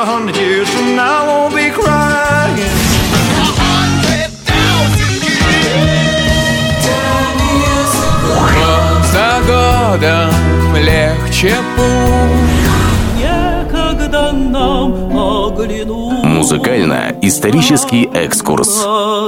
100 years from now, I won't be crying. 100,000 years. Год за годом легче путь. Некогда нам оглянуть. Музыкально-исторический экскурс.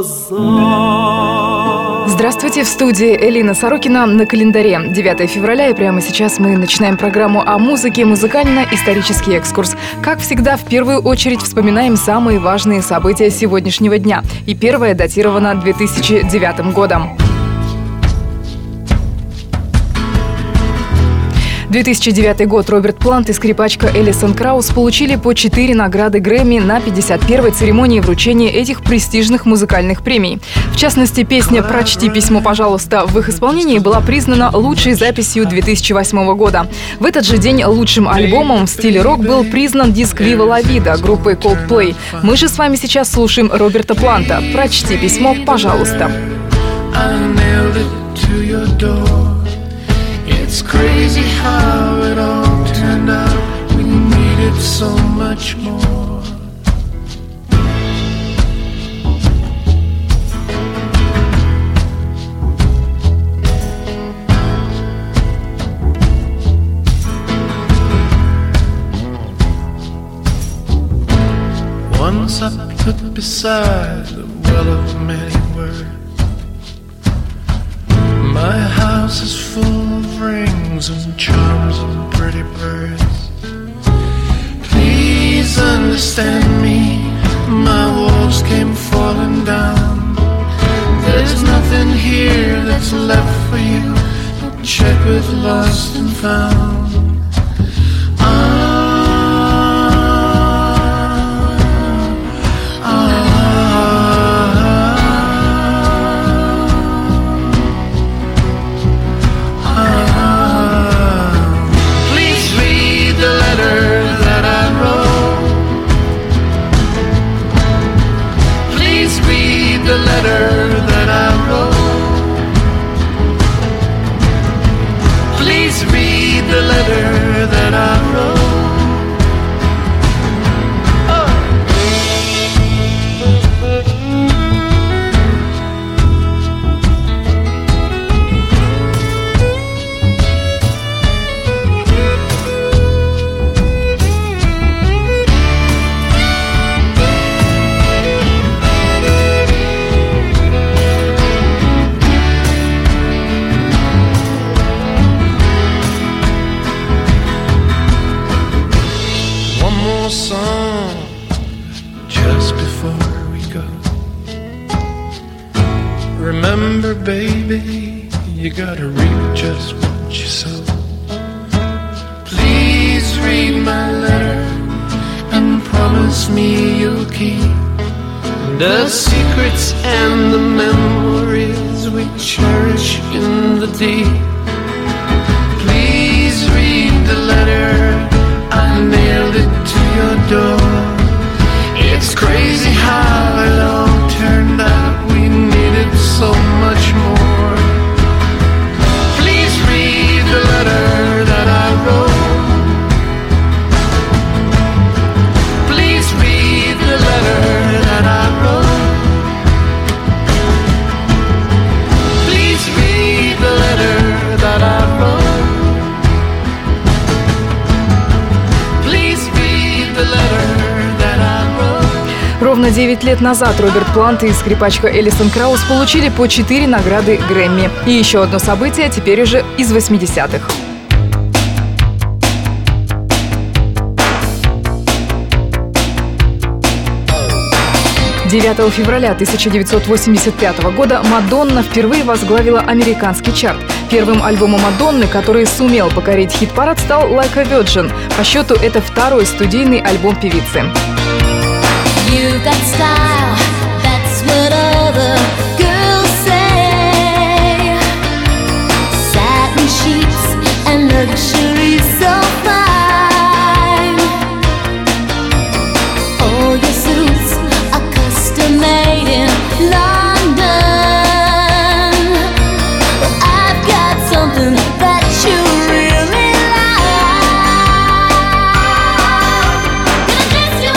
Здравствуйте, в студии Элина Сорокина. На календаре 9 февраля, и прямо сейчас мы начинаем программу о музыке «Музыкально-исторический экскурс». Как всегда, в первую очередь вспоминаем самые важные события сегодняшнего дня. И первое датировано 2009 годом. 2009 год. Роберт Плант и скрипачка Элисон Краус получили по 4 награды Грэмми на 51-й церемонии вручения этих престижных музыкальных премий. В частности, песня «Прочти письмо, пожалуйста» в их исполнении была признана лучшей записью 2008 года. В этот же день лучшим альбомом в стиле рок был признан диск «Viva la Vida» группы Coldplay. Мы же с вами сейчас слушаем Роберта Планта. «Прочти письмо, пожалуйста». It's crazy how it all turned out. We needed so much more. Once I put beside the well of many words. My house is full of rings and charms and pretty birds. Please understand me, my walls came falling down. There's nothing here that's left for you, no checkered, lost and found. Remember, baby, you gotta reap just what you sow. Please read my letter and promise me you'll keep the secrets and the memories we cherish in the deep. Please read the letter, I nailed it to your door. It's crazy how it all turned out. We needed so much more. Please read the letter that I wrote. Please read the letter that I wrote. Please read the letter that I wrote. Please read the letter that I wrote. Ровно 9 лет назад Роберт Плант и скрипачка Элисон Краус получили по 4 награды Грэмми. И еще одно событие, теперь уже из 80-х. 9 февраля 1985 года Мадонна впервые возглавила американский чарт. Первым альбомом Мадонны, который сумел покорить хит-парад, стал «Like a Virgin». По счету это второй студийный альбом певицы. You've got style, that's what other girls say. Satin sheets and luxury so fine. All your suits are custom made in London. Well, I've got something that you really like. Gonna dress you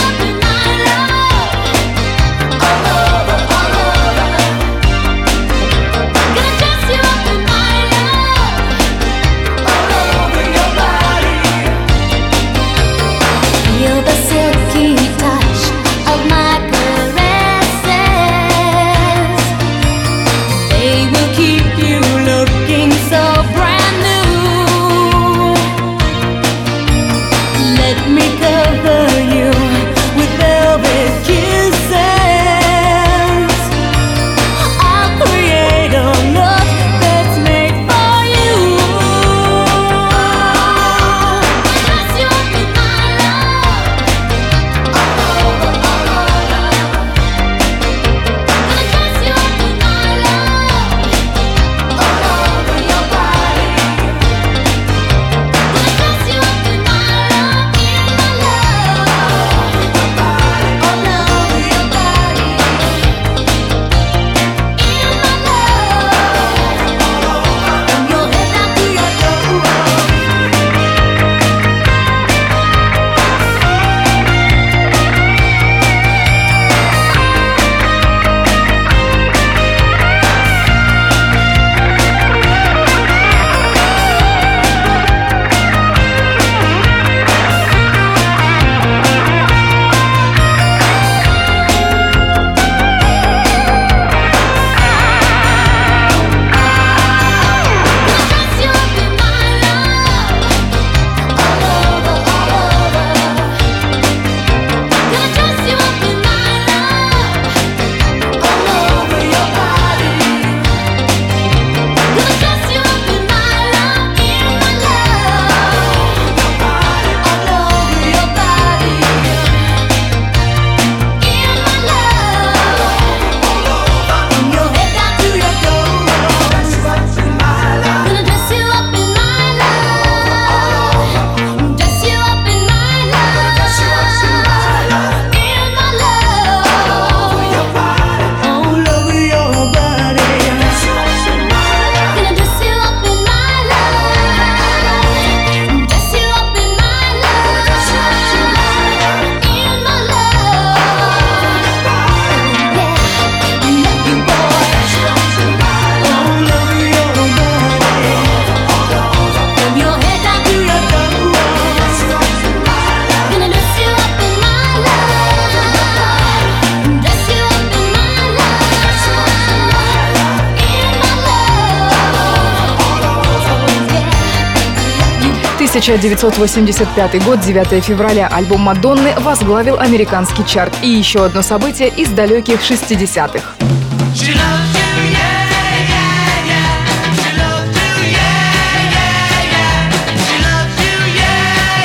1985 год, 9 февраля, альбом Мадонны возглавил американский чарт. И еще одно событие из далеких 60-х. She loves you, yeah, yeah, yeah. She loves you, yeah, yeah, yeah. She loves you, yeah,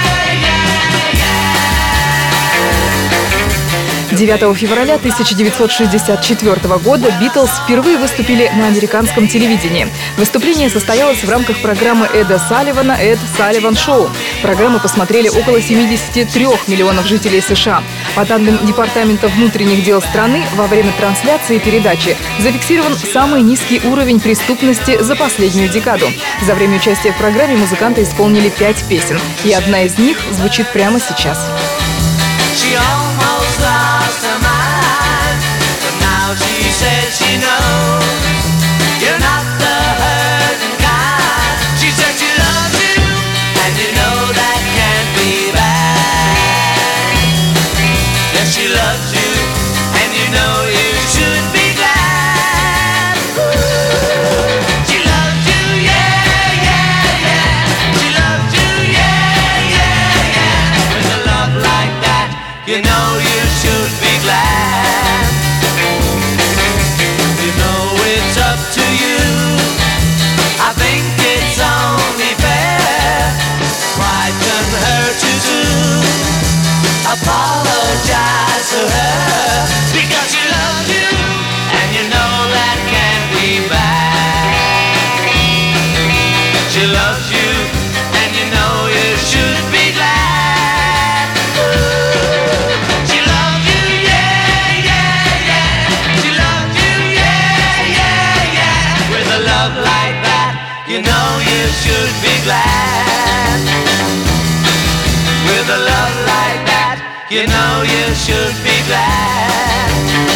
yeah, yeah. 9 февраля 1964 года «Битлз» впервые выступили на американском телевидении. Выступление состоялось в рамках программы Эда Салливана «Эд Салливан Шоу». Программу посмотрели около 73 миллионов жителей США. По данным Департамента внутренних дел страны, во время трансляции передачи зафиксирован самый низкий уровень преступности за последнюю декаду. За время участия в программе музыканты исполнили 5 песен, и одна из них звучит прямо сейчас. She almost lost her mind, but now she says she knows you're not the hurting kind. She said she loves you, and you know that can't be bad. Yes, she loves you, and you know you should be glad. She loves you, yeah, yeah, yeah. She loves you, yeah, yeah, yeah. With a love like that, you know you should be glad. You know it's up to you. I think it's only fair. Why couldn't hurt you too? Apologize to her because she loves you, and you know that can't be bad. She loves you, and you know you should be glad. She loves you, yeah, yeah, yeah. She loves you, yeah, yeah, yeah. With a love like that, you know you should be glad. With a love like that, you know you should be glad.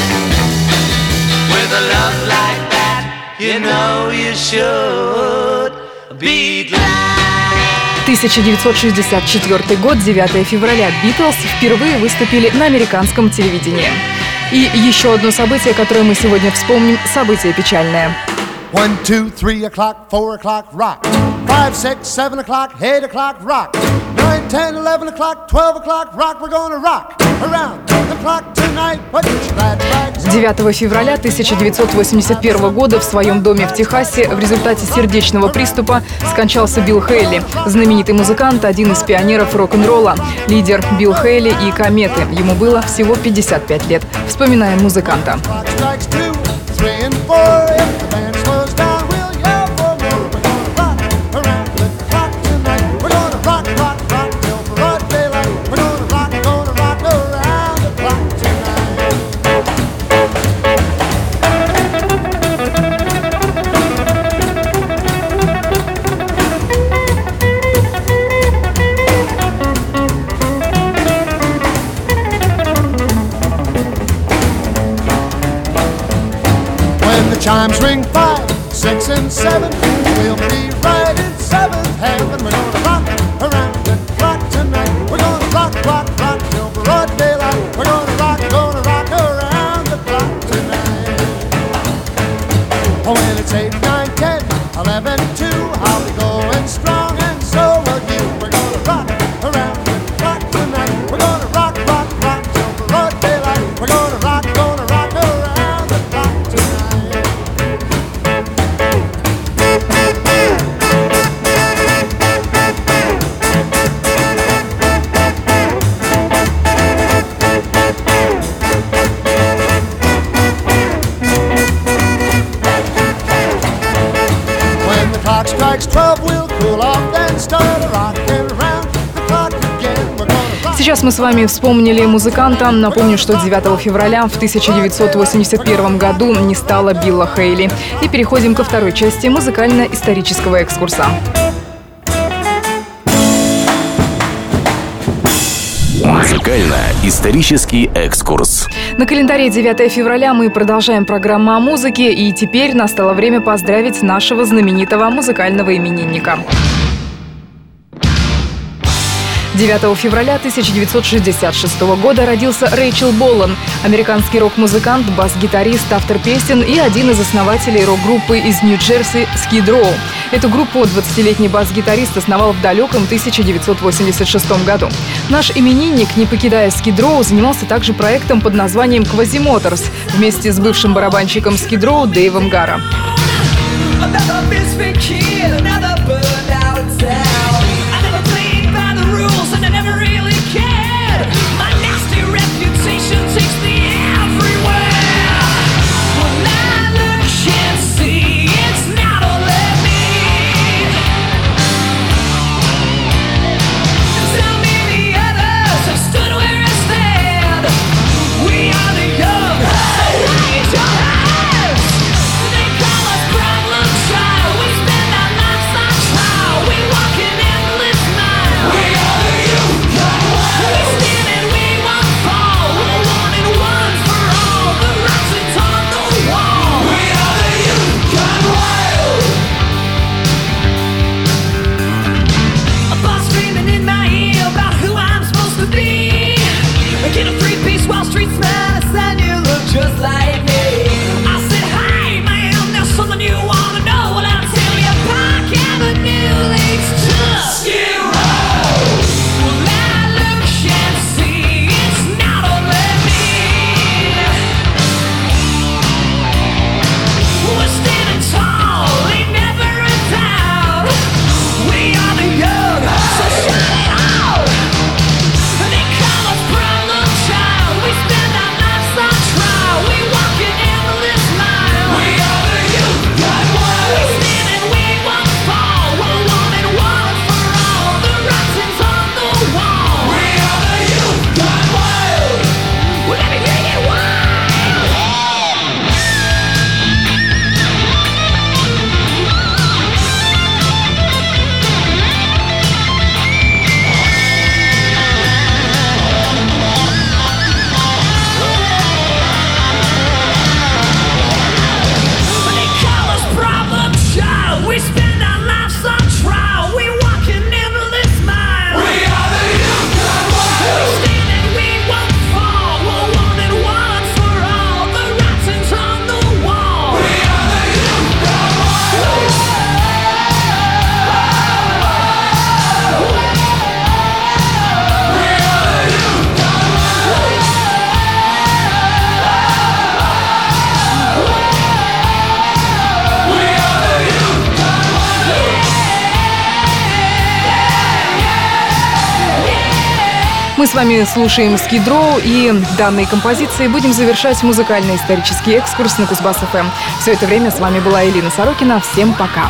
With a love like that, you know you should be glad. 1964 год, 9 февраля, «Битлз» впервые выступили на американском телевидении. И еще одно событие, которое мы сегодня вспомним, событие печальное. 1, 2, 3 o'clock, 4 o'clock, rock. 5, 6, 7 o'clock, 8 o'clock, rock. 9, 10, 11 o'clock, 12 o'clock, rock. We're gonna rock around the clock tonight. Put your glad rags on. 9 февраля 1981 года в своем доме в Техасе в результате сердечного приступа скончался Билл Хейли. Знаменитый музыкант, один из пионеров рок-н-ролла, лидер Билл Хейли и «Кометы». Ему было всего 55 лет. Вспоминаем музыканта. Clock strikes 2, 3 and 4. If the band slows down, we'll yell for more. We're gonna rock around the clock tonight. We're gonna rock, rock, rock till broad daylight. We're gonna rock around the clock tonight. When the chimes ring 5, 6 and 7, we'll be right in seventh heaven. We're gonna rock around the clock tonight. We're gonna rock, rock, rock till broad daylight. We're gonna rock around the clock tonight. Oh, when it's 8, 9, 10, 11, 2, I'll be going strong and so will you. We're gonna rock around the clock tonight. We're gonna rock, rock, rock till broad daylight. We're gonna rock around the clock tonight. When the clock strikes 12, we'll cool off, then start rocking around the clock again. We're gonna rock. Сейчас мы с вами вспомнили музыканта. Напомню, что 9 февраля в 1981 году не стало Билла Хейли. И переходим ко второй части музыкально-исторического экскурса. Музыкально-исторический экскурс. На календаре 9 февраля мы продолжаем программу о музыке, и теперь настало время поздравить нашего знаменитого музыкального именинника. 9 февраля 1966 года родился Рэйчел Болан, американский рок-музыкант, бас-гитарист, автор песен и один из основателей рок-группы из Нью-Джерси Skid Row. Эту группу 20-летний бас-гитарист основал в далеком 1986 году. Наш именинник, не покидая Skid Row, занимался также проектом под названием Quasimotorz вместе с бывшим барабанщиком Skid Row Дэйвом Гарро. Мы с вами слушаем Skid Row, и данной композицией будем завершать музыкально-исторический экскурс на Кузбасс-ФМ. Все это время с вами была Элина Сорокина. Всем пока!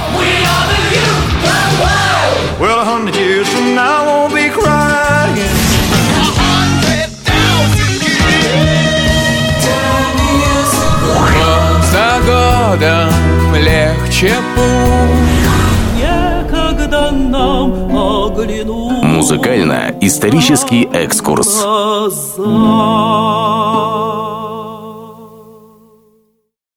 За годом легче путь, некогда нам оглянуть Музыкально-исторический экскурс. глаза.